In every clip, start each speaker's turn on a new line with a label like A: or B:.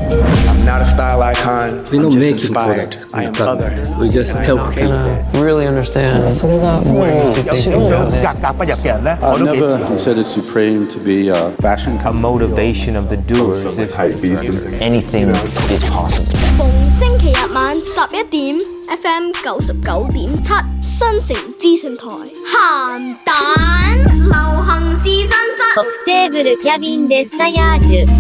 A: I'm not a style icon.
B: We
A: I'm
B: don't
A: just
B: make
A: inspired.
B: product.
A: I am other.
B: We just help people.
C: Really understand.
D: I've
B: never considered Supreme to be a fashion
E: a motivation of the doers. If anything is possible.
F: 逢星期日晚11點 FM 99.7新城資訊台，鹹蛋流行試身室。
G: トップテーブルキャビンデッサヤージュ。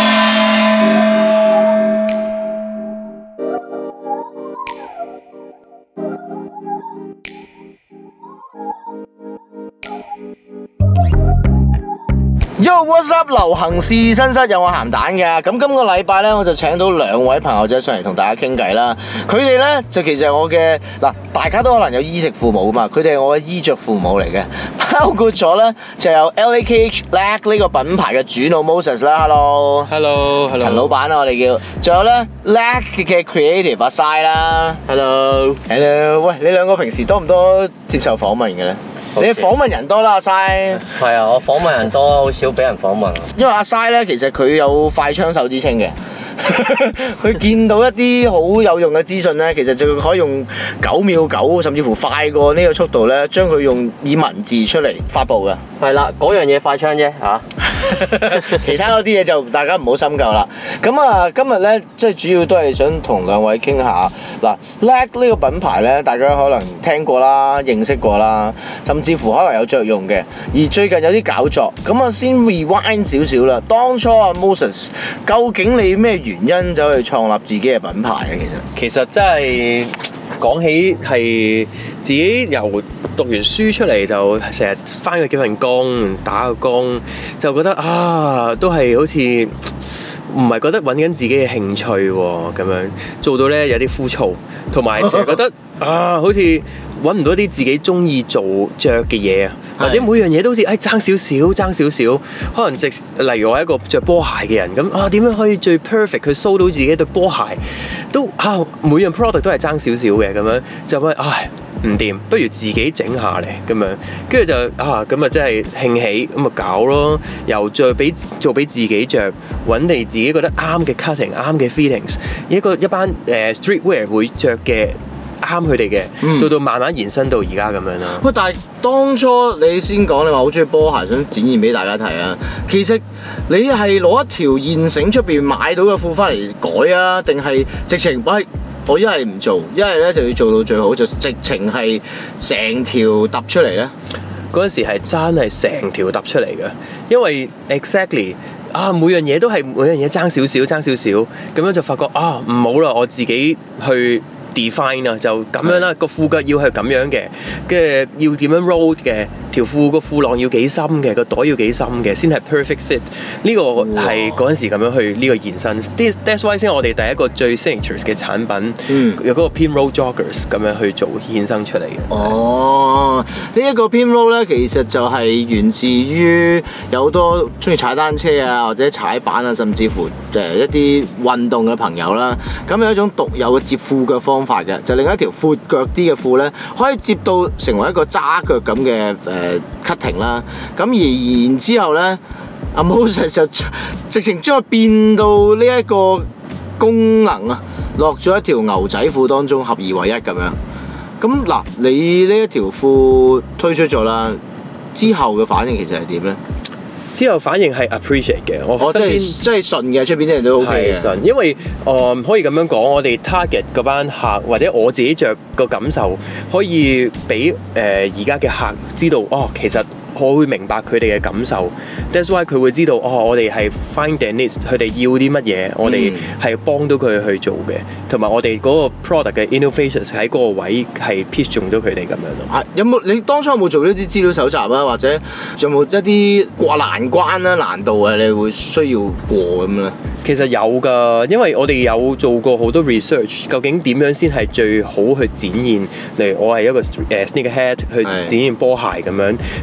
D: Yo, what's up？ 流行試身室有我鹹蛋嘅，咁今個禮拜咧我就請到兩位朋友仔上嚟同大家傾偈啦。佢哋咧就其實係我嘅嗱，大家都可能有衣食父母嘛，佢哋係我嘅衣着父母嚟嘅，包括咗咧就有 LAKH Lack 呢個品牌嘅主腦 Moses 啦 ，Hello， 陳老闆啊我哋叫，仲有咧 Lack 嘅 Creative 阿 Sai 啦
E: Hello，
D: 喂，你兩個平時多唔多接受訪問嘅咧？你訪問人多啦，阿 Sai。
E: 係啊，我訪問人多，好少俾人訪問。
D: 因為阿 Sai 咧，其實佢有快槍手之稱嘅。佢見到一啲好有用嘅資訊咧，其實就可以用9秒9，甚至乎快過呢個速度咧，將佢用以文字出嚟發布嘅。
E: 係啦，嗰樣嘢快槍啫嚇。
D: 其他嗰啲嘢就大家唔好深究啦。咁啊，今日咧即係主要都係想同兩位傾下嗱 ，Lack 呢個品牌咧，大家可能聽過啦、認識過啦，甚至乎可能有着用嘅。而最近有啲搞作，咁啊先 rewind 少少啦。當初啊 Moses， 究竟你咩原因走去創立自己嘅品牌咧？
H: 其實真係講起係自己由讀完書出嚟就成日返過幾份工，打個工，就覺得啊，都係好似唔係覺得揾緊自己嘅興趣喎，咁樣做到咧有啲枯燥，同埋成日覺得啊，好似揾唔到啲自己中意做着嘅嘢啊，或者每樣嘢都好似爭少少，可能例如我係一個着波鞋嘅人咁啊，點樣可以最 perfect 去 show 到自己對波鞋都每樣 product 都係爭少少嘅咁樣，就覺得唔掂，不如自己整下嚟咁樣，跟住就咁啊真係興起咁啊搞咯，又再做俾自己着，揾嚟自己覺得啱嘅 cutting、啱嘅 fittings， 一班streetwear 會着嘅。啱佢哋嘅，到慢慢延伸到而家咁樣啦。
D: 喂，但係當初你先講你話好中意波鞋，想展現俾大家睇啊。其實你係攞一條現成出邊買到嘅褲翻嚟改啊，定係直情我一係唔做，一係咧就要做到最好，就直情係成條揼出嚟咧？
H: 嗰陣時係真係成條揼出嚟嘅，因為 exactly。每樣嘢都係每樣嘢爭少少，咁樣就發覺唔好啦，我自己去 define 啊，就咁樣啦，個褲腳要係咁樣嘅，跟住要點樣 roll 嘅，條褲個褲浪要幾深嘅，個袋要幾深嘅，先係 perfect fit。呢個係嗰陣時咁樣去呢個延伸。That's why 先我哋第一個最 signature 嘅產品，有嗰個 Pinroll Joggers 咁樣去做衍生出嚟嘅。
D: 呢一個 Pinroll 咧，其實就係源自於有好多中意踩單車啊，或者踩板啊，甚至乎一啲運動嘅朋友啦。咁有一種獨有嘅接褲腳方法嘅，就另一條闊腳啲嘅褲咧，可以接到成為一個揸腳咁嘅cutting 啦。咁而然之後咧，阿 Moses 就直情將佢變到呢一個功能啊，落咗一條牛仔褲當中，合二為一咁樣。咁嗱，你呢一條褲推出咗啦，之後嘅反應其實係點咧？
H: 之後反應係 appreciate 嘅，我身邊
D: 真係順嘅，出邊啲人都 OK 嘅。
H: 係順，因為可以咁樣講，我哋 target 嗰班客或者我自己着個感受，可以俾而家嘅客知道，其實我會明白佢哋嘅感受。That's why 佢會知道，我哋係 find their needs，佢哋要啲乜嘢，我哋係幫到佢去做嘅，同埋我哋嗰個 product 嘅 innovations 喺嗰個位係 pitch 中到佢哋咁樣咯。
D: 有冇你當初有冇做呢啲資料搜集啊？或者仲有冇一啲過難關啦、難度啊？你會需要過咁咧？
H: 其實有㗎，因為我哋有做過好多 research， 究竟點樣先係最好去展現？例如我係一個sneakerhead 去展現波鞋咁樣 ，Pinroll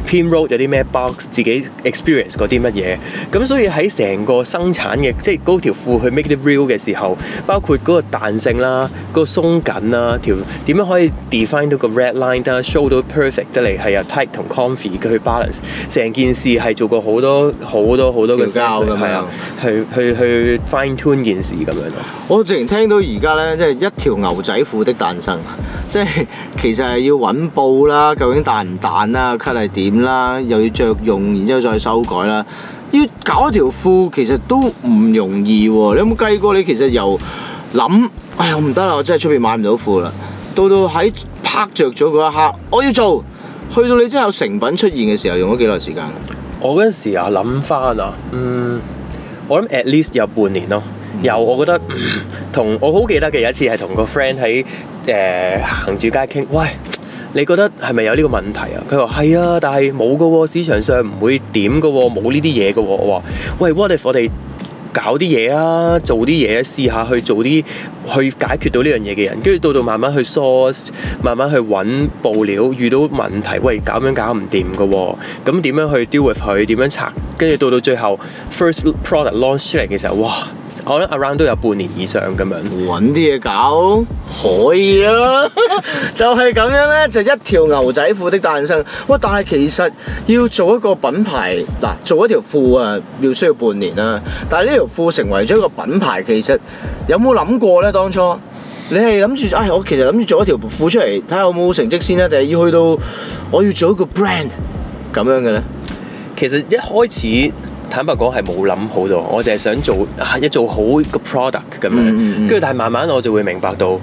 H: 有啲咩 box， 自己 experience 過啲乜嘢。咁所以喺成個生產嘅，即係嗰條褲去 make it real 嘅時候，包括嗰個彈性啦、嗰個鬆緊啦、條點樣可以 define 到個 red line 啦、show 到 perfect 得嚟係有 tight 同 comfy 嘅去 balance。成件事係做過好多嘅
D: 膠咁樣，
H: 去 fine tune 件事咁樣咯。
D: 我之前聽到而家咧，即係一條牛仔褲的誕生，即係其實係要揾布啦，究竟彈唔彈啦，cut 係點啦，又要着用，然之後再修改啦。要搞一條褲其實都唔容易喎。你有冇計過？你其實由諗，哎呀我唔得啦，我真係出邊買唔到褲啦，到喺拍着咗嗰一刻，我要做，去到你真係有成品出現嘅時候，用咗幾耐時間？
H: 我嗰陣時啊諗翻啊，我諗 at least 有半年咯。我覺得同我好記得嘅有一次係同個 friend 喺行住街傾，喂，你覺得係咪有呢個問題啊？佢話係啊，但係冇㗎喎，市場上唔會點㗎喎，冇呢啲嘢㗎喎。我話喂 ，what if 我哋搞啲嘢啊，做啲嘢，試下去做啲去解決到呢樣嘢嘅人，跟住到慢慢去 source， 慢慢去揾布料，遇到問題，喂，搞唔掂㗎喎，咁點樣去 deal with 佢？點樣拆？跟住到最後 first product launch 出嚟嘅時候，哇！可能 around 都有半年以上咁樣。
D: 揾啲嘢搞可以啊，就係咁樣咧，就一條牛仔褲的誕生。喂，但係其實要做一個品牌，嗱，做一條褲啊，要需要半年啦。但係呢條褲成為咗一個品牌，其實有冇諗過咧？當初你係諗住，我其實諗住做一條褲出嚟，睇下有冇成績先咧，定係要去到我要做一個 brand 咁樣嘅咧？
H: 其實一開始坦白講係冇諗好多，我淨係想做好個 product 咁樣，跟住但係慢慢我就會明白到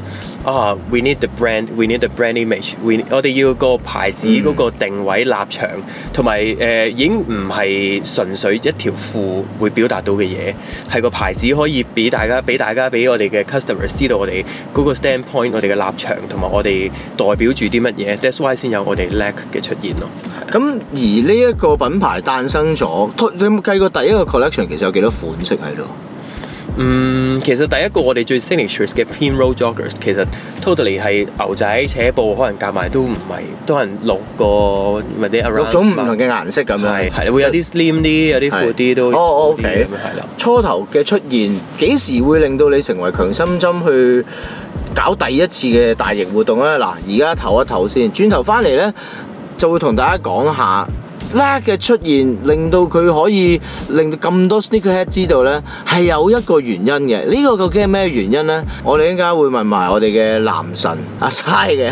H: we need the brand, we need the brand image， 我哋要個牌子嗰個定位立場，同埋已經唔係純粹一條褲會表達到嘅嘢，係個牌子可以俾我哋嘅 customers 知道我哋嗰個 standpoint， 我哋嘅立場同埋我哋代表住啲乜嘢 ，that's why 先有我哋 Lack 嘅出現咯。
D: 咁而呢一個品牌誕生咗，你有冇計過第一個 collection 其實有幾多款式喺度？
H: 其實第一個我哋最 signature 嘅 Pinroll Joggers 其實 totally 係牛仔扯布，可能夾埋都唔係，都係6個或者 around
D: 6種唔同嘅顏色咁樣，
H: 係會有啲 slim 啲，有啲闊啲都。
D: OK。
H: 係啦。
D: 初頭嘅出現幾時會令到你成為強心針去搞第一次嘅大型活動咧？嗱，而家唞一唞先，轉頭翻嚟咧就會同大家講下。Lack 嘅出現令到佢可以令到咁多 sneakerhead 知道咧，係有一個原因嘅。呢個究竟係咩原因咧？我哋應該會問埋我哋嘅男神阿 Sai 嘅。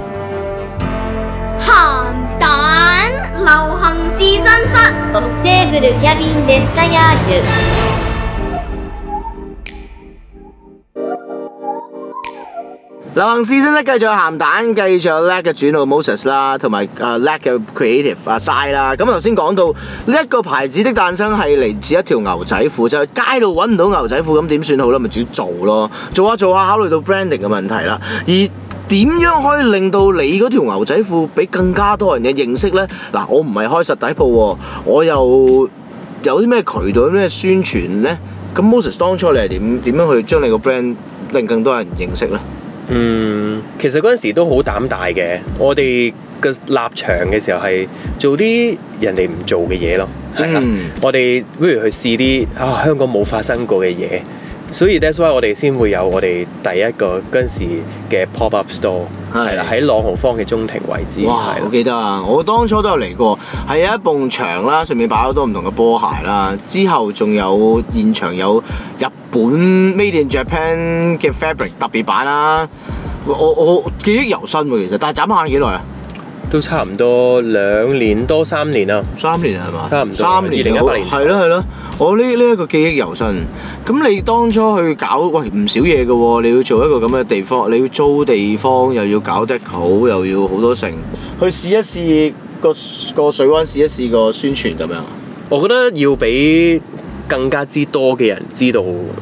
F: 鹹蛋流行試身室。
G: オフテーブルキャビンデッサヤージュ。
D: 流行試身室繼續有鹹蛋，繼續有 Lack 嘅主腦 Moses 啦，同埋Lack 嘅 creative 阿 Sai 啦。咁頭先講到呢一個牌子的誕生係嚟自一條牛仔褲，就係街度揾唔到牛仔褲，咁點算好咧？咪自己做咯，做下考慮到 branding 嘅問題啦。而點樣可以令到你嗰條牛仔褲俾更加多人嘅認識咧？嗱，我唔係開實體鋪喎，我又有啲咩渠道、有咩宣傳咧？咁 Moses 當初你係點樣去將你個 brand 令更多人認識咧？
H: 其實嗰陣時都好膽大嘅，我哋嘅立場嘅時候係做啲人哋唔做嘅嘢咯，係啦，我哋不如去試啲香港冇發生過嘅嘢，所以 that's why 我哋先會有我哋第一個嗰陣時嘅 pop up store， 係啦，喺朗豪坊嘅中庭位置。
D: 哇！我記得啊，我當初都有嚟過，係有一埲牆啦，上面擺好多唔同嘅波鞋啦，之後仲有現場有日本 Made in Japan 嘅 fabric 特別版啦，我記憶猶新喎，其實，但係眨下眼幾耐啊？
H: 都差唔多2年多3年啦。
D: 3年係嘛？
H: 差唔多。
D: 3年
H: 2018年。
D: 係咯，我呢一個記憶猶新。咁你當初去搞唔少嘢嘅喎，你要做一個咁嘅地方，你要租地方，又要搞deco，又要好多成，去試一試個水溫，試一試個宣傳咁樣。
H: 我覺得要俾更加之多嘅人知道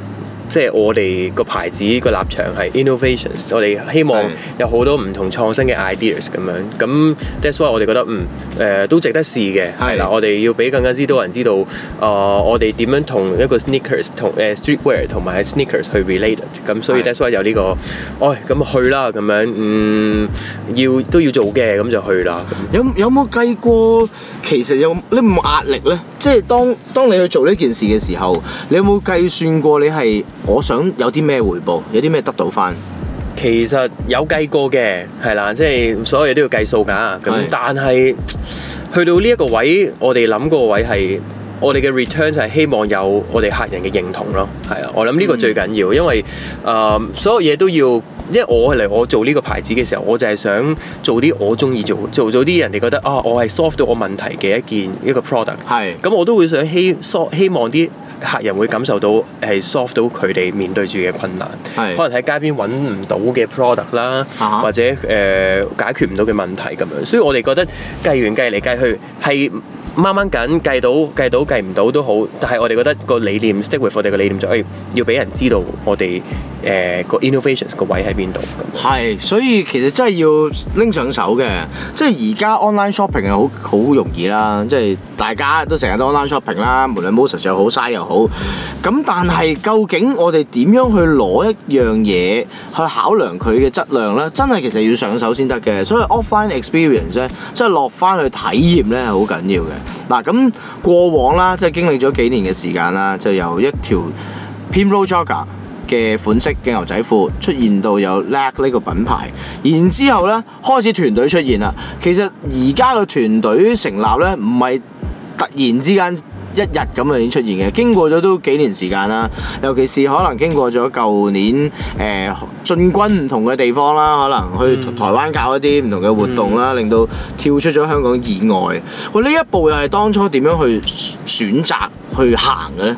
H: 即係我哋個牌子個立場係 innovations， 我哋希望有好多唔同創新嘅 ideas 咁樣。咁 that's why 我哋覺得都值得試嘅。係啦，我哋要俾更加之多人知道，我哋點樣同一個 sneakers 同streetwear 同埋 sneakers 去 relate。咁所以 that's why 有呢個，咁去啦咁樣，都要做嘅，咁就去啦。
D: 有冇計過其實你冇壓力咧？即係當你去做呢件事嘅時候，你有冇計算過你係我想有啲咩回報，有啲咩得到翻？
H: 其實有計過嘅，係啦，即係所有嘢都要計數㗎。咁但係去到呢一個位，我哋諗個位係我哋嘅 return 就係希望有我哋客人嘅認同咯。係啊，我諗呢個最緊要，因為所有嘢都要。因為我做呢個牌子嘅時候，我就係想做啲我中意做啲人哋覺得我係 solve 到我問題嘅一個 product。係。咁我都會想希望啲客人會感受到係 solve 到佢哋面對住嘅困難。係。可能喺街邊揾唔到嘅 product 啦，或者解決唔到嘅問題咁樣。所以我哋覺得計嚟計去係掹掹緊，計到計唔到都好，但係我哋覺得個理念 stick with 我哋嘅理念就係要俾人知道我哋個 innovations 個位喺邊度。係，
D: 所以其實真係要拎上手嘅。即係而家 online shopping 係好容易啦，即係大家都成日都 online shopping 啦，無論 Moses 又好，size 又好。咁但係究竟我哋點樣去攞一樣嘢去考量佢嘅質量咧？真係其實要上手先得嘅。所以 offline experience 咧，即係落翻去體驗咧係好緊要嘅。嗱，咁過往啦，即係經歷咗幾年嘅時間啦，就由一條 Pimro Jogger 嘅款式嘅牛仔褲出現到有 Lag 呢個品牌，然之後咧開始團隊出現啦。其實而家嘅團隊成立咧，唔係突然之間一日咁已經出現嘅，經過咗都幾年時間啦。尤其是可能經過咗舊年進軍唔同嘅地方啦，可能去台灣搞一啲唔同嘅活動啦，令到跳出咗香港以外。喂，呢一步又係當初點樣去選擇去行嘅咧？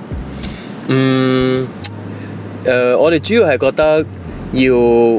H: 我哋主要係覺得要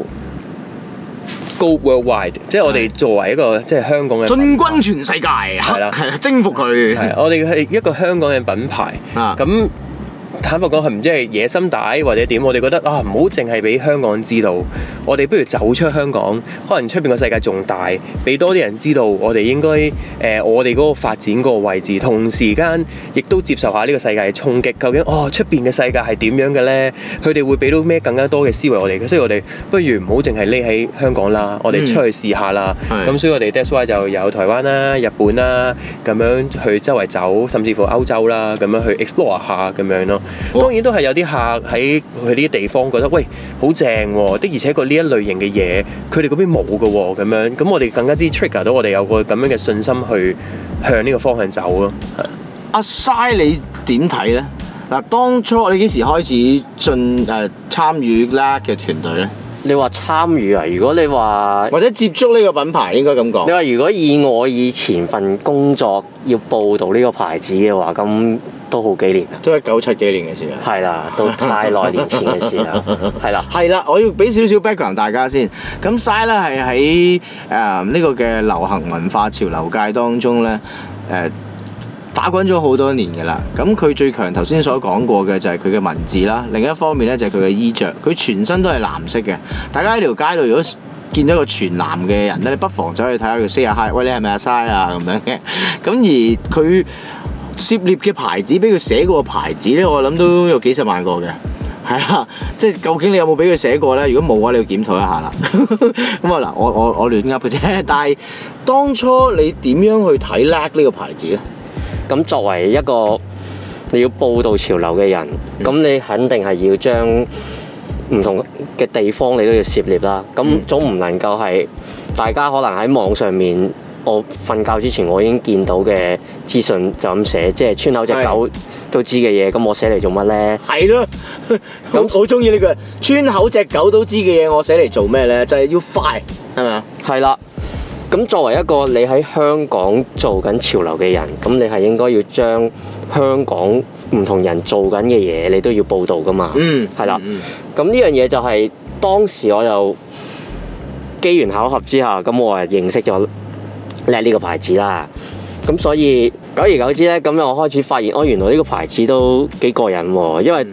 H: go worldwide， 即係我哋作為一個即係香港嘅
D: 進軍全世界，係啦，征服佢。係，
H: 我哋係一個香港嘅品牌。咁坦白講係唔知係野心大或者點，我哋覺得唔好淨係俾香港知道，我哋不如走出香港，可能出邊個世界仲大，俾多啲人知道我哋應該我哋嗰個發展嗰個位置，同時間亦都接受下呢個世界嘅衝擊。究竟出邊嘅世界係點樣嘅咧？佢哋會俾到咩更加多嘅思維我哋嘅？所以我哋不如唔好淨係匿喺香港啦，我哋出去試下啦。咁所以我哋 that's why 就有台灣啦、日本啦，咁樣去周圍走，甚至乎歐洲啦，咁樣去 explore 下咁樣咯。當然都係有啲客喺佢呢啲地方覺得喂好正喎，的而且確呢一類型嘅嘢佢哋嗰邊冇嘅喎，咁樣咁我哋更加之 trigger 到我哋有個咁樣嘅信心去向呢個方向走咯。
D: 阿 Sai 你點睇咧？嗱，當初你幾時開始參與 Lag 嘅團隊咧？
C: 你話參與啊？如果你話
D: 或者接觸呢個品牌，應該咁講。
C: 你話如果以我以前份工作要報導呢個牌子嘅話，咁都好幾年啦。都係97幾年嘅事啦。係啦，都太耐年前嘅事啦。係啦。係啦，我要俾少少 background 大家先。咁 Sai 咧係喺呢個嘅流行文化潮流界當中咧打滾咗好多年嘅啦，咁佢最強頭先所講過嘅就係佢嘅文字啦，另一方面咧就係佢嘅衣着，佢全身都係藍色嘅。大家喺條街度如果見到一個全藍嘅人咧，你不妨走去睇下佢 say 下 hi， 喂，你係咪阿 Sai 啊咁樣嘅。咁而佢涉獵嘅牌子，俾佢寫過嘅牌子咧，我諗都有幾十萬個嘅。係啦，即係究竟你有冇俾佢寫過咧？如果冇嘅話，你要檢討一下啦。咁啊嗱，我亂噏嘅啫。但係當初你點樣去睇 Lag 呢個牌子咧？咁作為一個你要報導潮流嘅人，咁你肯定係要將唔同嘅地方你都要涉獵啦。咁總唔能夠係大家可能喺網上面，我瞓覺之前我已經見到嘅資訊就咁寫，即係村口隻狗都知嘅嘢，咁我寫嚟做乜咧？係咯，咁好中意呢句村口隻狗都知嘅嘢，我寫嚟做咩咧？就係要快，係咪啊？係啦。咁作為一個你喺香港做緊潮流嘅人，咁你係應該要將香港唔同人做緊嘅嘢，你都要報導㗎嘛。係啦。咁呢樣嘢就係當時我又機緣巧合之下，咁我係認識咗 Lag 呢個牌子啦。咁所以久而久之咧，咁我開始發現，原來呢個牌子都幾過癮喎。因為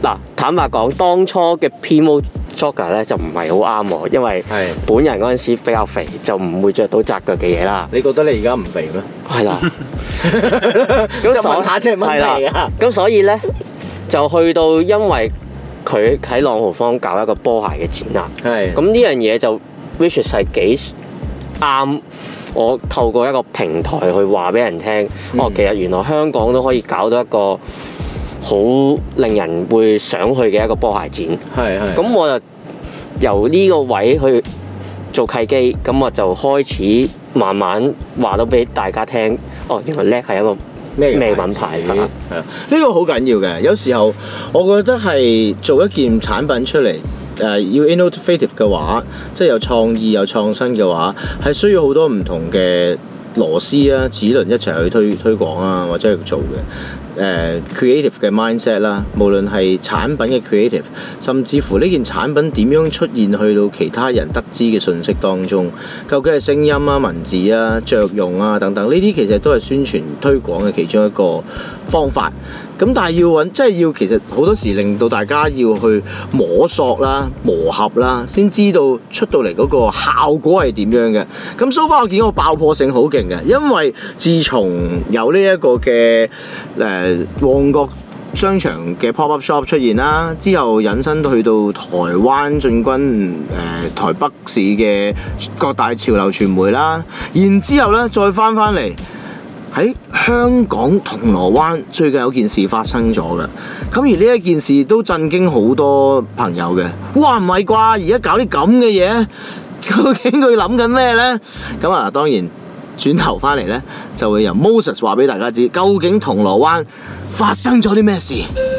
C: 嗱，坦白講，當初嘅 Primo Jogger 咧就唔係好啱我，因為本人嗰陣時比較肥，就唔會着到窄腳嘅嘢啦。
D: 你覺得你而家唔肥咩？
C: 係啦。
D: 咁問下即係問題啊。
C: 咁所以咧就去到，因為佢喺朗豪坊搞一個波鞋嘅展覽。係。咁呢樣嘢就 which 係幾啱。我透過一個平台去話俾人聽，其實原來香港都可以搞到一個好令人會想去嘅一個波鞋展。係。咁我就由呢個位去做契機，咁我就開始慢慢話到俾大家聽，原來叻係一個咩品牌㗎？係啊，
D: 呢個好緊要嘅。有時候我覺得係做一件產品出嚟。要 innovative 嘅話，即係有創意有創新嘅話，係需要好多唔同嘅螺絲啊、齒輪一齊去推廣啊，或者去做嘅。creative 嘅 mindset 啦，無論係產品嘅 creative， 甚至乎呢件產品點樣出現去到其他人得知嘅信息當中，究竟係聲音啊、文字啊、着用啊等等，呢啲其實都係宣傳推廣嘅其中一個方法。咁但係要揾，即係要其實好多時令到大家要去摸索啦、磨合啦，先知道出到嚟嗰個效果係點樣嘅。咁 so far 我見到個爆破性好勁嘅，因為自從有呢一個嘅旺角商場嘅 pop-up shop 出現啦，之後引申去到台灣進軍台北市嘅各大潮流傳媒啦，然之後咧再翻嚟。喺香港銅鑼灣最近有件事發生咗嘅，咁而呢一件事都震驚好多朋友嘅。哇，唔係啩？而家搞啲咁嘅嘢，究竟佢諗緊咩呢？咁啊，當然轉頭翻嚟呢，就會由 Moses 話俾大家知，究竟銅鑼灣發生咗啲咩事。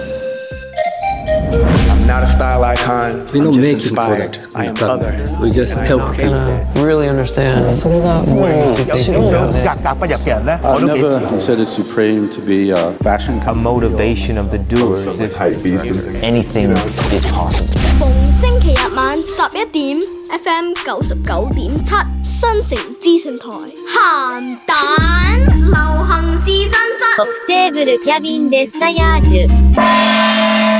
A: I'm not a style icon.
B: We don't make it
A: product. I am other.
B: We just help people.
E: Really understand.
B: I've never considered Supreme to be a fashion
E: A motivation of the doers. If anything is possible.
F: 逢星期日晚11點 FM 99.7新城資訊台鹹蛋流行試身室。
G: トップテーブルキャビンデッサヤージュ。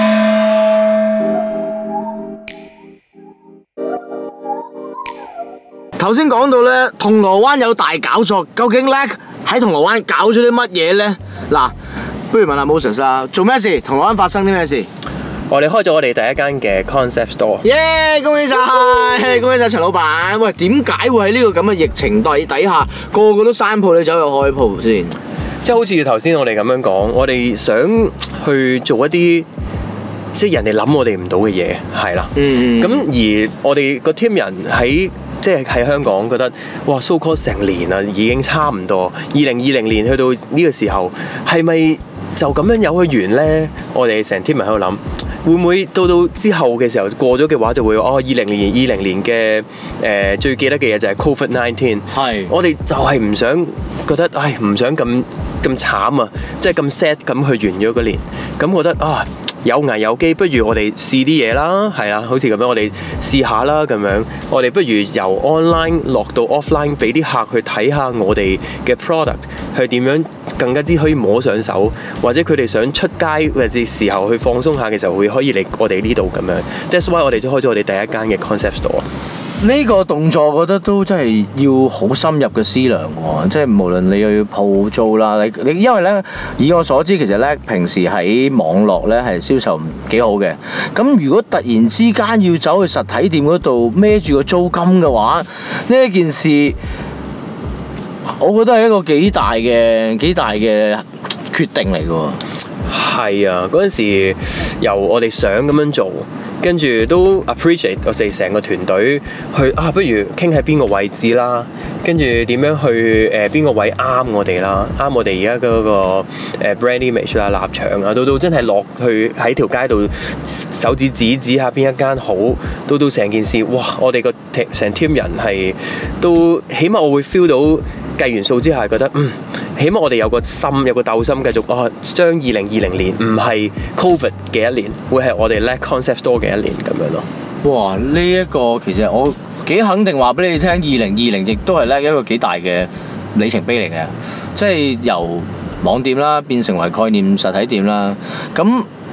D: 頭先講到咧，銅鑼灣有大搞作，究竟叻喺銅鑼灣搞咗啲乜嘢咧？嗱，不如問下 Moses 啊，做咩事？銅鑼灣發生啲咩事？
H: 我哋開咗我哋第一間嘅 concept store。
D: 耶！恭喜晒，恭喜晒陳老闆。喂，點解會喺呢個咁嘅疫情底下，個個都閂鋪，你走去開鋪先？
H: 即係好似頭先我哋咁樣講，我哋想去做一啲即係人哋諗我哋唔到嘅嘢，係啦。咁而我哋個 team 人喺即係喺香港覺得，哇 so call 成年啦，已經差唔多。2020年去到呢個時候，係咪就咁樣有去完呢？我哋成 team 人喺度諗，會唔會到之後嘅時候過咗嘅話，就會20年嘅最記得嘅嘢就係 COVID-19。係，我哋就係唔想覺得，唔想咁慘啊，即係咁 sad 咁去完咗個年，咁覺得有危有機，不如我哋試啲嘢啦，係啦，好似咁樣，我哋試下啦咁樣。我哋不如由 online 落到 offline， 俾啲客去睇下我哋嘅 product 係點樣更加之可以摸上手，或者佢哋想出街嘅時候去放鬆下嘅時候，會可以嚟我哋呢度咁樣。That's why 我哋就開咗我哋第一間嘅 concept store。
D: 呢個動作我覺得都真係要好深入嘅思量喎，即係無論你又要鋪租啦，你因為咧以我所知，其實咧平時喺網絡咧係銷售幾好嘅，咁如果突然之間要走去實體店嗰度孭住個租金嘅話，呢一件事我覺得係一個幾大嘅決定嚟嘅喎。
H: 係啊，嗰陣時由我哋想咁樣做。跟住都 appreciate 我哋成個團隊去不如傾喺邊個位置啦，跟住點樣去邊個位啱我哋啦，啱我哋而家嗰個brand image 啦、立場啊，到真係落去喺條街度手指指下邊一間好，到成件事，哇！我哋個成 team 人係都起碼我會 feel 到計完數之下覺得起碼我哋有個心有個鬥心，繼續將2020年唔係 Covid 嘅一年，會係我哋叻 concept store 嘅一年咁樣咯。
D: 哇！呢一個其實我幾肯定話俾你聽，2020亦都係叻一個幾大嘅里程碑嚟嘅，即係由網店啦變成為概念實體店啦。咁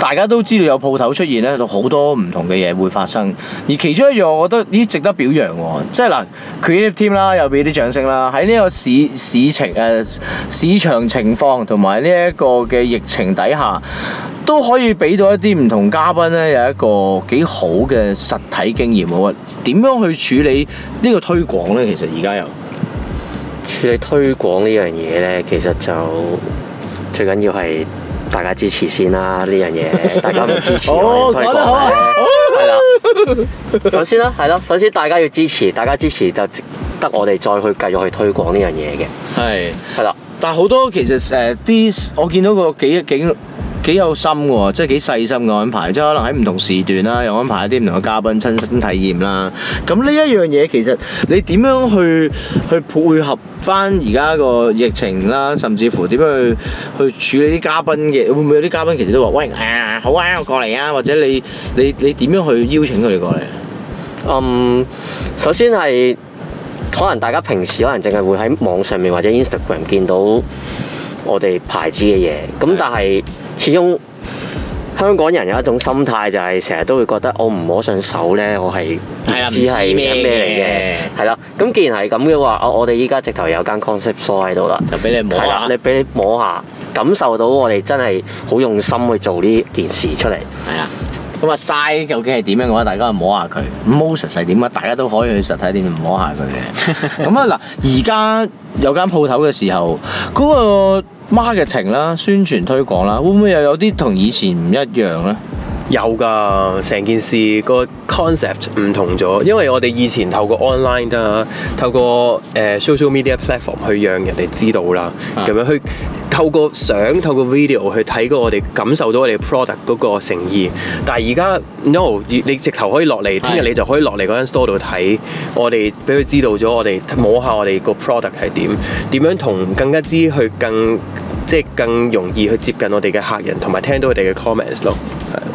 D: 大家都知道有鋪頭出現咧，好多唔同嘅嘢會發生。而其中一樣，我覺得值得表揚喎，即係嗱 creative team 啦，又俾啲掌聲啦。喺呢個市場情況同埋呢一個嘅疫情底下，都可以俾到一啲唔同嘉賓咧有一個幾好嘅實體經驗喎。點樣去處理呢個推廣咧？其實而家又
C: 處理推廣呢樣嘢咧，其實就最緊要係大家支持先啦。呢樣嘢大家唔支持我哋推廣咧，係啦。首先啦，係咯，首先大家要支持，大家支持就值得我哋再去繼續去推廣呢樣嘢嘅。係啦。
D: 但係好多其實啲我見到個幾有心喎，即係幾細心嘅安排，即係可能喺唔同時段啦，又安排一啲唔同嘅嘉賓親身體驗啦。咁呢一樣嘢其實你點樣去配合翻而家個疫情啦，甚至乎點樣去處理啲嘉賓嘅？會唔會有啲嘉賓其實都話喂好啊，我過嚟啊，或者你點樣去邀請佢哋過嚟？
C: 首先係可能大家平時可能淨係會喺網上面或者 Instagram 見到我哋牌子嘅嘢，咁但係始終香港人有一種心態，就係成日都會覺得我唔摸上手咧，我係唔知係咩嚟嘅。係啦，咁既然係咁嘅話，我哋依家直頭有間 concept store 喺度啦，
D: 就俾你摸下，
C: 你俾你摸下，感受到我哋真係好用心去做呢件事出嚟。
D: 係啊。咁啊，size究竟係點樣嘅話，大家去摸下佢。Moses 係點啊？大家都可以去實體店摸下佢嘅。咁啊嗱，而家有間鋪頭嘅時候，嗰個 marketing 啦、宣傳推廣啦，會唔會又有啲同以前唔一樣咧？
H: 有㗎，成件事個 concept 唔同咗，因為我哋以前透過 online 啦，透過social media platform 去讓人哋知道啦，咁樣去透過相、透過 video 去睇過我哋感受到我哋 product 嗰個誠意。但係而家 no， 你直頭可以落嚟，聽日你就可以落嚟嗰間 store 度睇，我哋俾佢知道咗，我哋摸下我哋個 product 係點樣同更加之去更容易去接近我哋嘅客人，同埋聽到佢哋嘅 comments 咯。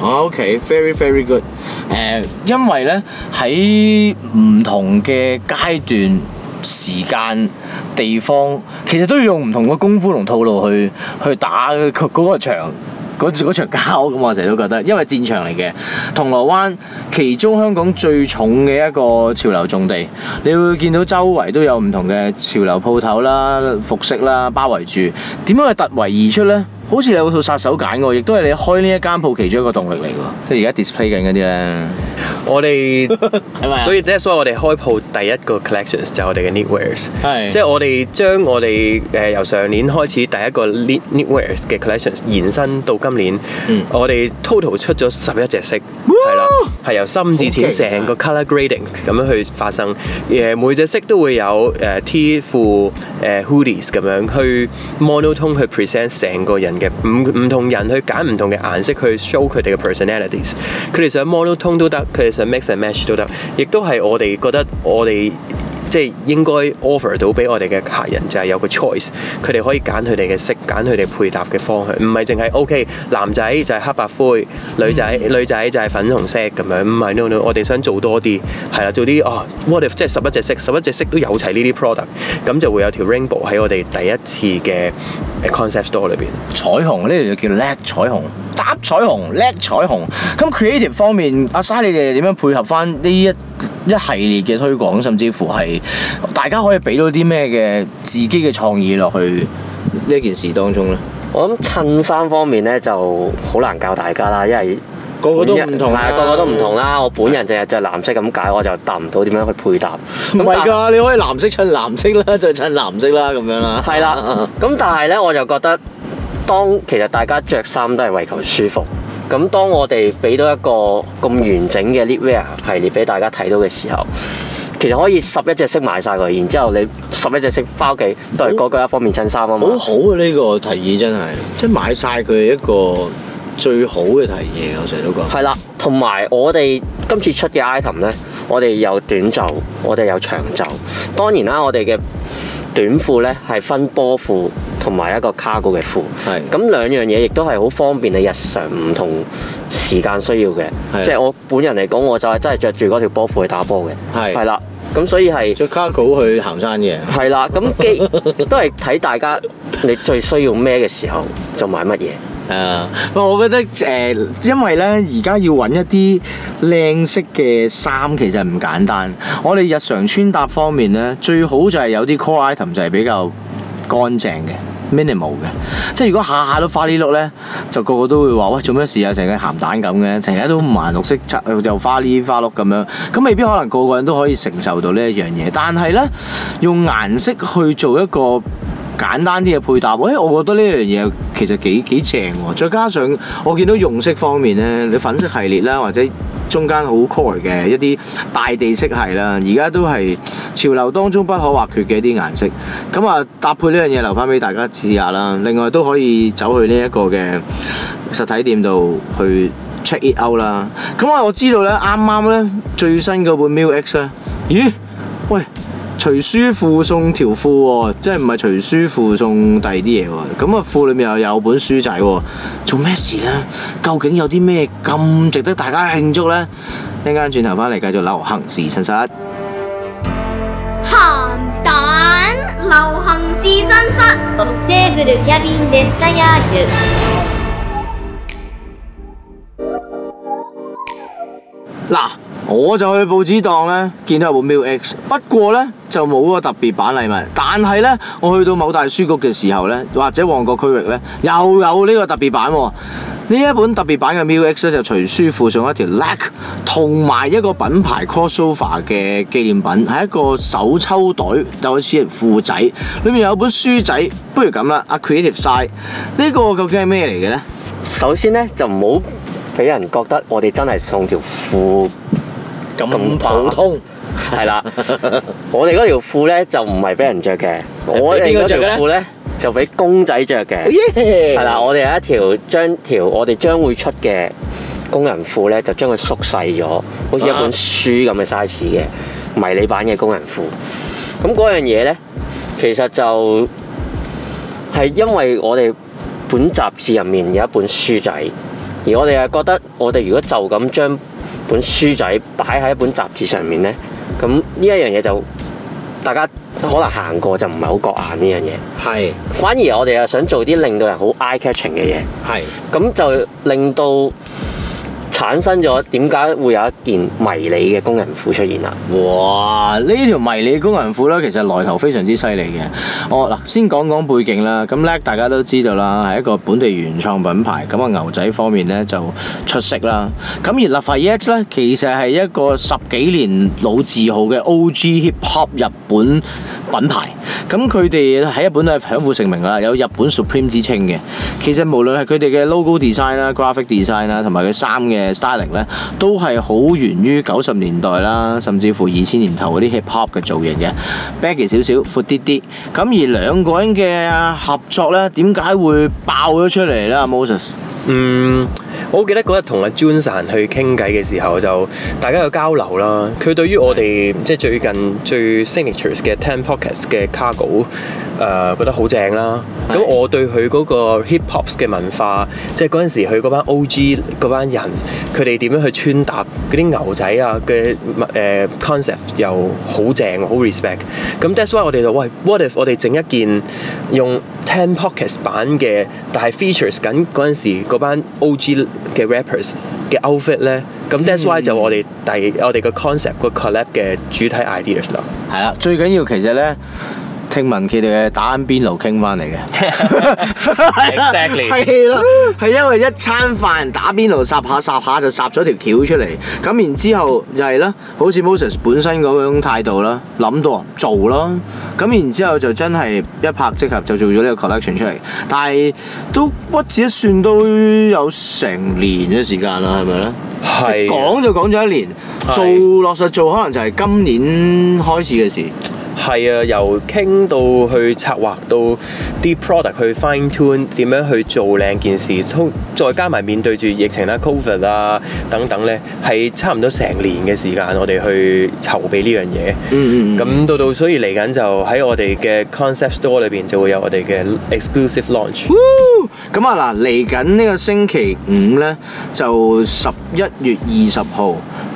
D: OK，very very good。因為咧喺唔同嘅階段、時間、地方，其實都要用唔同嘅功夫同套路去打嗰個場。嗰場交咁，我成日都覺得，因為戰場嚟嘅銅鑼灣，其中香港最重嘅一個潮流重地，你會見到周圍都有唔同嘅潮流鋪頭啦、服飾啦包圍住。點樣去突圍而出呢？好似你有套殺手鐧喎，亦都係你開呢一間鋪其中一個動力嚟喎。即係而家 display 緊嗰啲咧，
H: 我哋所以 that's why 我哋開鋪第一個 collections 就係我哋嘅 knitwears，即係我哋將我哋由上年開始第一個 knitwears 嘅 collections 延伸到今年，我哋 total 出咗11隻色，係啦，係由深至淺成個 color grading 咁樣去發生，每隻色都會有T 褲hoodies 咁樣去 monotone 去 present 成個人嘅唔同人去揀唔同嘅顏色去 show 佢哋嘅 personalities， 佢哋想 monotone 都得，佢哋想 mix and match 都得，亦都係我哋覺得我哋即係應該 offer 到俾我哋嘅客人就係有個 choice， 佢哋可以揀佢哋嘅色，揀佢哋配搭嘅方向，唔係淨係 OK 男仔就係黑白灰，女仔就係粉紅色咁樣，唔係 no， 我哋想做多啲，係啦，做啲what if 即係11隻色都有齊呢啲 product， 咁就會有條 rainbow 喺我哋第一次嘅 concept store 裏邊。
D: 彩虹呢條就叫叻彩虹，搭彩虹叻彩虹。咁 creative 方面，阿沙你哋點樣配合翻呢一系列嘅推廣，甚至乎係大家可以俾到啲咩嘅自己嘅創意落去呢件事當中咧？
C: 我諗襯衫方面咧就好難教大家啦，因為
D: 個個都唔同，
C: 個個都唔同啦。我本人淨係着藍色咁解，我就答唔到點樣去配搭。
D: 唔係㗎，你可以藍色襯藍色啦，就襯藍色啦咁樣啦。
C: 係啦，咁但係咧我就覺得，其實大家着衫都係為求舒服。咁當我哋俾到一個咁完整嘅 knitwear 系列俾大家睇到嘅時候，其實可以11隻色買晒佢，然之後你11隻色翻屋企都係嗰個一方面襯衫啊嘛。
D: 好好啊！呢個提議真係，即係買晒佢一個最好嘅提議，我成日都講。
C: 係啦，同埋我哋今次出嘅 item 咧，我哋有短袖，我哋有長袖。當然啦，我哋嘅短褲咧係分波褲同埋一個 cargo 嘅褲，咁兩樣嘢亦都係好方便你日常唔同時間需要嘅。即係我本人嚟講，我就係真係着住嗰條波褲去打波嘅，係啦。咁所以係
D: 着 cargo 去行山嘅，
C: 係啦。咁都係睇大家你最需要咩嘅時候就買乜嘢。
D: 我覺得因為咧而家要揾一啲靚色嘅衫其實唔簡單。我哋日常穿搭方面咧，最好就係有啲 core item 就係比較乾淨嘅。minimal 嘅，即係如果下下都花呢碌咧，就個個都會話喂，做咩事啊？成個鹹蛋咁嘅，成日都五顏六色，又花呢花碌咁樣，咁未必可能個個人都可以承受到呢一樣嘢。但係咧，用顏色去做一個簡單啲嘅配搭，我覺得呢樣嘢其實幾正喎。再加上我見到用色方面咧，你粉色系列啦，或者中間好 core 嘅一啲大地色系啦，而家都係潮流當中不可或缺嘅一啲顏色。咁啊，搭配呢樣嘢留翻俾大家試下啦。另外都可以走去呢一個嘅實體店度去 check it out 啦。咁我知道咧，啱啱咧最新嗰本 Mill X 咧，咦？喂！隨書附送條褲喎，即係唔係隨書附送第二啲嘢喎？咁啊，褲裏面又有本書仔喎，做咩事呢？究竟有啲咩咁值得大家慶祝呢？一陣間轉頭翻嚟繼續流行時新室。鹹
F: 蛋流行時新室。
G: オフテーブルキャビンデッサヤージュ。
D: 嗱。我就去報紙檔咧，見到有部 Mill X， 不過咧就冇個特別版禮物。但係咧，我去到某大書局嘅時候咧，或者旺角區域咧，又有呢個特別版喎。呢一本特別版嘅 Mill X 咧，就隨書附送一條 Lac 同埋一個品牌 crossover 嘅紀念品，係一個手抽袋，有好似褲仔，裏面有本書仔。不如咁啦，阿 Creative Side 呢個究竟係咩嚟嘅咧？
C: 首先咧就唔好俾人覺得我哋真係送條褲。咁普通係啦，我哋嗰條褲咧就唔係俾人着嘅，我哋嗰條褲咧就俾公仔着嘅，係啦，我哋有一條我哋將會出嘅工人褲咧，就將佢縮細咗，好似一本書咁嘅 size 嘅迷你版嘅工人褲。咁嗰樣嘢咧，其實就係因為我哋本雜誌入面有一本書仔，而我哋係覺得我哋如果就咁將本書仔擺喺一本雜誌上面呢，咁呢一樣嘢就大家可能行過就唔係好覺眼呢樣嘢。係，反而我哋又想做啲令到人好 eye catching 嘅嘢。係，咁就令到產生咗點解會有一件迷你嘅工人褲出現啦？哇！呢條迷你工人褲咧，其實來頭非常之犀利嘅。嗱，先講講背景啦。咁Lac大家都知道啦，係一個本地原創品牌。咁啊，牛仔方面咧就出色啦。咁而 Lafayette 咧，其實係一個10幾年老字號嘅 OG Hip Hop 日本品牌。咁佢哋喺日本都係享負盛名啦，有日本 Supreme 之稱嘅。其實無論係佢哋嘅 logo design 啦、graphic design 啦，同埋佢衫嘅styling 咧，都係好源於90年代啦，甚至乎2000年頭嗰啲 hip hop 嘅造型嘅 baggy 少少，闊啲啲。咁而兩個人嘅合作咧，點解會爆咗出嚟咧？Moses？
H: 我記得嗰日同阿 Junsan 去傾偈嘅時候，就大家有交流啦。佢對於我哋即係最近最 signatures 嘅 10 Pockets 嘅 cargo，覺得好正啦。咁我對佢嗰個 hip hop 嘅文化，即係嗰陣時佢嗰班 OG 嗰班人，佢哋點樣去穿搭嗰啲牛仔啊嘅concept 又好正，好 respect。咁 that's why 我哋就喂 ，what if 我哋整一件用10 Pockets 版嘅，但係 features 緊嗰陣時嗰班 OG 嘅 rappers 嘅 outfit 咧，咁 that's why 就我哋個 concept 個 collab 嘅主體 ideas 啦。
D: 係啦，最緊要其實咧，聽聞佢哋係打緊邊爐傾翻嚟嘅。
H: Exactly。
D: 係咯，係因為一餐飯打邊爐霎下就霎咗條橋出嚟，咁然之後就係啦，好似 Moses 本身嗰種態度啦，諗到做啦，咁然之後就真係一拍即合就做咗呢個 collection 出嚟，但係都屈指一算都有成年嘅時間啦，係咪咧？係。講就講咗1年，做落實做可能就係今年開始嘅事。
H: 係啊，由傾到去策劃到啲 product 去 fine tune 點樣去做靚件事，再加埋面對住疫情啦、COVID 啊等等咧，係差唔多成年嘅時間，我哋去籌備呢樣嘢。咁到所以嚟緊就喺我哋嘅 concept store 裏邊就會有我哋嘅 exclusive launch。
D: 咁啊嗱，嚟緊呢個星期5咧就11月20號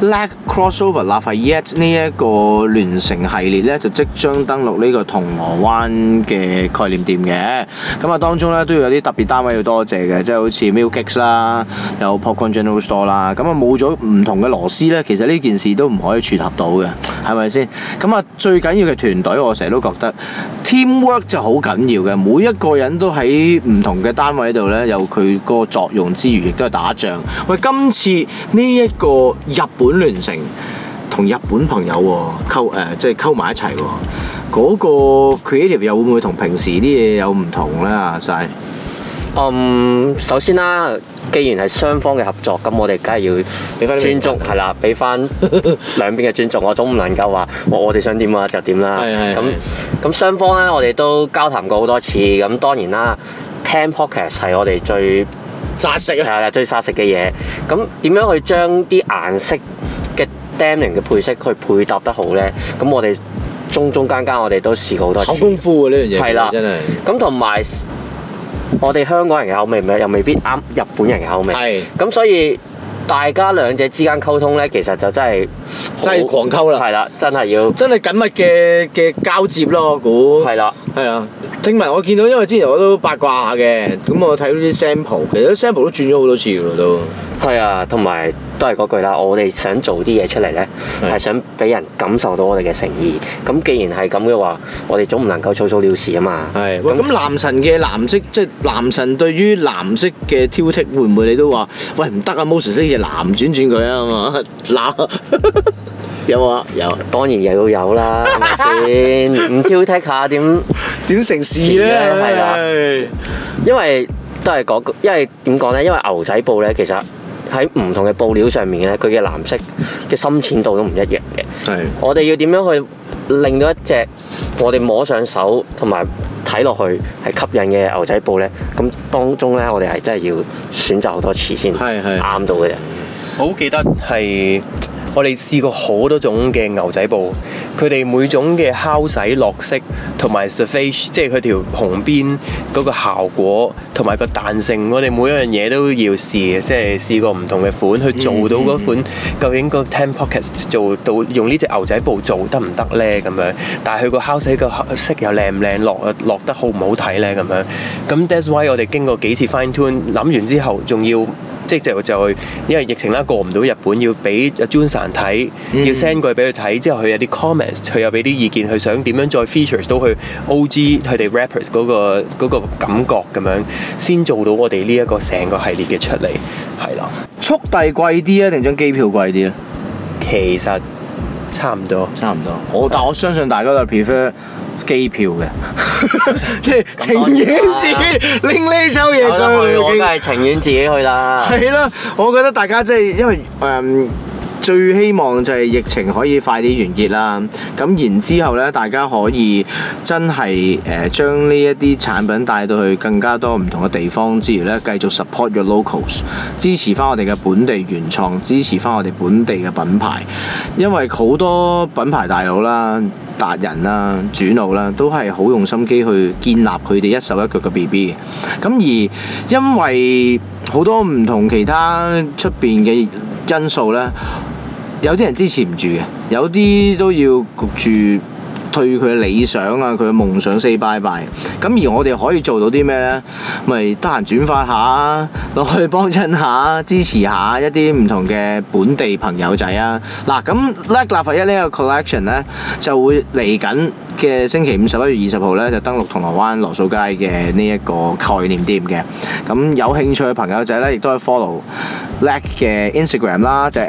D: Lag Crossover Lafayette 呢一個聯乘系列咧，就即將登陸呢個銅鑼灣嘅概念店嘅。咁啊，當中咧都要有啲特別單位要多謝嘅，即係好似 Milkix 啦，有 Popcorn General Store 啦。咁啊，冇咗唔同嘅螺絲咧，其實呢件事都唔可以撮合到嘅，係咪先？咁啊，最緊要嘅團隊，我成日都覺得 teamwork 就好緊要嘅，每一個人都喺唔同嘅單位度咧，有佢個作用之餘，亦都係打仗。喂，今次呢一個日本聯乘同日本朋友即係溝埋一齊喎，嗰個 creative 又會唔會同平時啲嘢有唔同咧？阿曬，
C: 首先啦，既然係雙方嘅合作，咁我哋梗係要俾翻尊重，係啦，俾翻兩邊嘅尊重。我總唔能夠話我哋想點啊就點啦。咁雙方咧，我哋都交談過好多次。咁當然啦，聽 podcast 係我哋最
D: 殺食啊！
C: 係啦，最殺食嘅嘢。咁點樣去將啲顏色嘅 denim 嘅配色去配搭得好咧？咁我哋中間我哋都試過好多次。
D: 好功夫喎呢樣嘢，係啦，真係。
C: 咁同埋我哋香港人嘅口味又未必啱日本人嘅口味。係。咁所以大家兩者之間溝通咧，其實就真係
D: 狂溝啦。係
C: 啦，真係要
D: 真係緊密嘅交接咯，我估。係啦。係啊。聽聞我見到，因為之前我都八卦下嘅，咁我睇到啲 sample， 其實啲 sample 都轉咗好多次㗎咯都。
C: 係啊，同埋都係嗰句啦，我哋想做啲嘢出嚟咧，係想俾人感受到我哋嘅誠意。咁既然係咁嘅話，我哋總唔能夠草草了事啊嘛。係。
D: 咁男神嘅藍色，即係男神對於藍色嘅挑剔，會唔會你都話喂唔得啊 ？Moses 呢隻藍轉佢啊嘛，藍有冇啊？有。當然又要有啦，係咪先？唔挑剔下點成事咧？
C: 係啦，因為都係嗰句，因為點講咧？因為牛仔布咧，其實喺唔同嘅布料上面咧，佢嘅藍色嘅深淺度都唔一樣嘅。係。我哋要點樣去令到一隻我哋摸上手同埋睇落去係吸引嘅牛仔布咧？咁當中咧，我哋係真係要選擇好多次先啱到嘅人。
H: 我好記得係。我哋試過好多種嘅牛仔布，佢哋每種嘅敲洗落色同埋 surface， 即係佢條紅邊嗰個效果同埋個彈性，我哋每一樣嘢都要試嘅，即係試過唔同嘅款去做到嗰款，究竟個 10 pockets 做到用呢隻牛仔布做得唔得咧咁樣？但係佢個敲洗個色又靚唔靚，落得好唔好睇咧咁樣？咁 that's why 我哋經過幾次 fine tune， 諗完之後仲要。即係就因為疫情啦，過唔到日本，要俾 Junsan 睇，要 send 過去俾佢睇，之後佢有啲 comments， 佢又俾啲意見，佢想點樣再 features 到佢 OG 佢哋 rappers 嗰個感覺咁樣，先做到我哋呢一個成個系列嘅出嚟，係啦。
D: 速遞貴啲啊，定張機票貴啲咧？
H: 其實差唔多。
D: 但我相信大家都 prefer 機票嘅，即係情願自己拎呢抽嘢去。
C: 我梗係情願自己去啦。
D: 係啦，我覺得大家即係因為最希望就係疫情可以快啲完結啦。咁然之後咧，大家可以真係將呢一啲產品帶到去更加多唔同嘅地方之餘咧，繼續 support your locals， 支持翻我哋嘅本地原創，支持翻我哋本地嘅品牌。因為好多品牌大佬啦、達人啦、主腦啦，都係好用心機去建立佢哋一手一腳嘅 BB。咁而因為好多唔同其他出邊嘅因素咧，有啲人支持唔住嘅，有啲都要焗住對佢嘅理想啊，佢嘅夢想 say bye bye。咁而我哋可以做到啲咩呢？咪得閒轉發下，落去幫襯下，支持下一啲唔同嘅本地朋友仔啊！嗱，咁 Lag Lafayette 呢個 collection 呢，就會嚟緊嘅星期5 11月20號呢，就登陸銅鑼灣羅素街嘅呢一個概念店嘅。咁有興趣嘅朋友仔呢，亦都可以 follow Lag 嘅 Instagram 啦，就係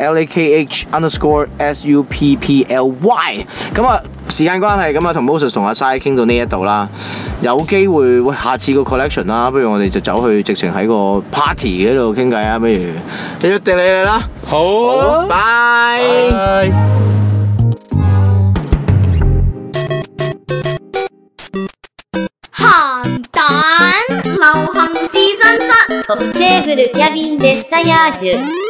D: LAKH_SUPPLY。咁啊，時間關係咁啊，同 Moses 同阿 Sai 傾到呢一度啦。有機會下次個 collection 啦，不如我哋就走去直情喺個 party 嗰度傾偈啊！不如你約定你嚟啦。好，拜。
F: 鹹蛋流行試身室。
G: トップテーブルキャビンデッサヤージュ